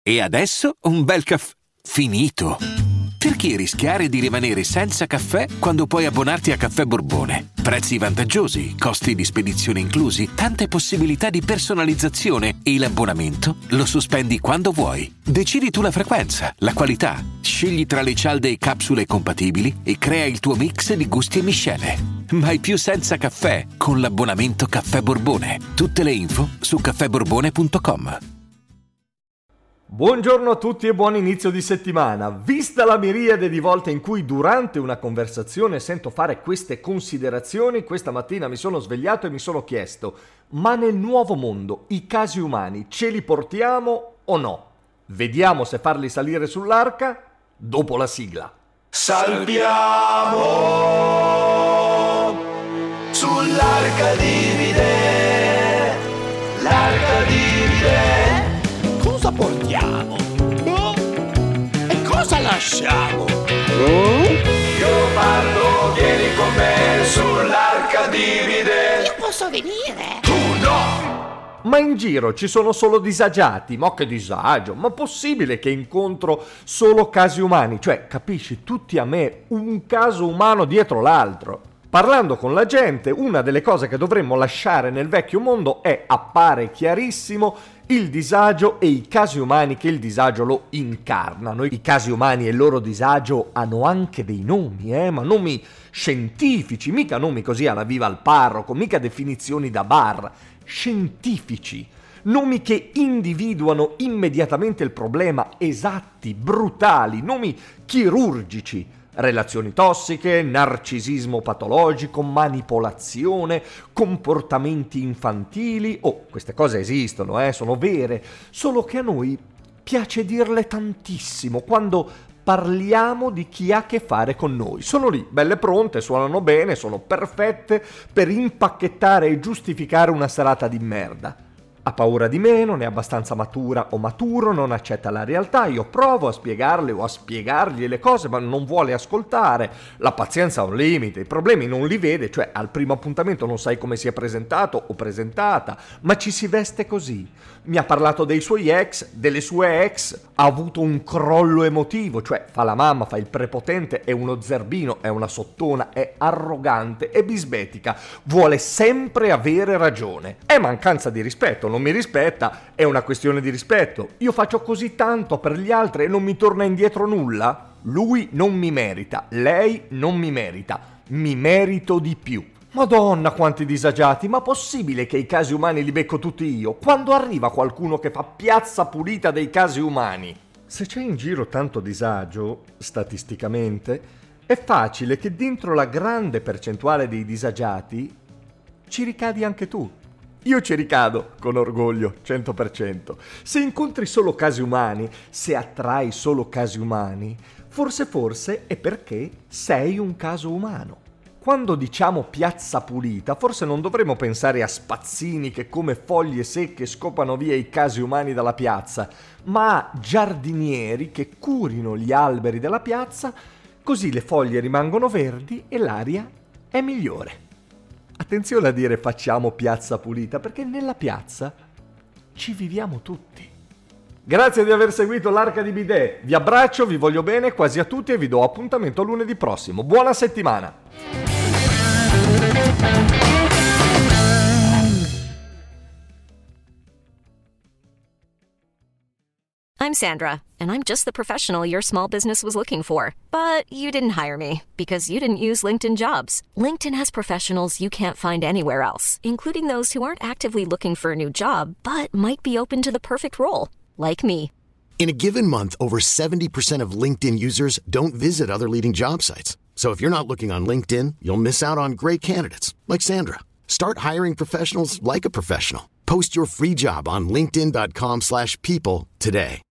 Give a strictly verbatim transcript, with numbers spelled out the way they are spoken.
E adesso un bel caffè finito. Perché rischiare di rimanere senza caffè quando puoi abbonarti a Caffè Borbone? Prezzi vantaggiosi, costi di spedizione inclusi, tante possibilità di personalizzazione e l'abbonamento lo sospendi quando vuoi. Decidi tu la frequenza, la qualità, scegli tra le cialde e capsule compatibili e crea il tuo mix di gusti e miscele. Mai più senza caffè con l'abbonamento Caffè Borbone. Tutte le info su caffè borbone punto com. Buongiorno a tutti e buon inizio di settimana. Vista la miriade di volte in cui durante una conversazione sento fare queste considerazioni, questa mattina mi sono svegliato e mi sono chiesto: ma nel nuovo mondo i casi umani ce li portiamo o no? Vediamo se farli salire sull'arca dopo la sigla. Salviamo sull'arca divide, l'arca divide. Cosa portiamo? Oh? E cosa lasciamo? Oh? Io parlo, vieni con me sull'arca divide. Io posso venire? Tu no! Ma in giro ci sono solo disagiati? Ma che disagio! Ma possibile che incontro solo casi umani? Cioè, capisci, tutti a me, un caso umano dietro l'altro. Parlando con la gente, una delle cose che dovremmo lasciare nel vecchio mondo è, appare chiarissimo, il disagio e i casi umani che il disagio lo incarnano. I casi umani e il loro disagio hanno anche dei nomi, eh? Ma nomi scientifici, mica nomi così alla viva al parroco, mica definizioni da bar, scientifici. Nomi che individuano immediatamente il problema, esatti, brutali, nomi chirurgici. Relazioni tossiche, narcisismo patologico, manipolazione, comportamenti infantili. Oh, queste cose esistono, eh, sono vere, solo che a noi piace dirle tantissimo quando parliamo di chi ha a che fare con noi. Sono lì, belle pronte, suonano bene, sono perfette per impacchettare e giustificare una serata di merda. Ha paura di me, non è abbastanza matura o maturo, non accetta la realtà, io provo a spiegarle o a spiegargli le cose ma non vuole ascoltare, la pazienza ha un limite, i problemi non li vede, cioè al primo appuntamento non sai come si è presentato o presentata, ma ci si veste così. Mi ha parlato dei suoi ex, delle sue ex, ha avuto un crollo emotivo, cioè fa la mamma, fa il prepotente, è uno zerbino, è una sottona, è arrogante, è bisbetica, vuole sempre avere ragione, è mancanza di rispetto. Non mi rispetta, è una questione di rispetto. Io faccio così tanto per gli altri e non mi torna indietro nulla? Lui non mi merita, lei non mi merita, mi merito di più. Madonna quanti disagiati, ma possibile che i casi umani li becco tutti io? Quando arriva qualcuno che fa piazza pulita dei casi umani? Se c'è in giro tanto disagio, statisticamente, è facile che dentro la grande percentuale dei disagiati ci ricadi anche tu. Io ci ricado, con orgoglio, cento per cento. Se incontri solo casi umani, se attrai solo casi umani, forse forse è perché sei un caso umano. Quando diciamo piazza pulita, forse non dovremmo pensare a spazzini che come foglie secche scopano via i casi umani dalla piazza, ma a giardinieri che curino gli alberi della piazza, così le foglie rimangono verdi e l'aria è migliore. Attenzione a dire facciamo piazza pulita, perché nella piazza ci viviamo tutti. Grazie di aver seguito l'Arca di Bidet. Vi abbraccio, vi voglio bene quasi a tutti e vi do appuntamento a lunedì prossimo. Buona settimana! I'm Sandra, and I'm just the professional your small business was looking for. But you didn't hire me because you didn't use LinkedIn Jobs. LinkedIn has professionals you can't find anywhere else, including those who aren't actively looking for a new job, but might be open to the perfect role, like me. In a given month, over seventy percent of LinkedIn users don't visit other leading job sites. So if you're not looking on LinkedIn, you'll miss out on great candidates, like Sandra. Start hiring professionals like a professional. Post your free job on linkedin dot com slash people today.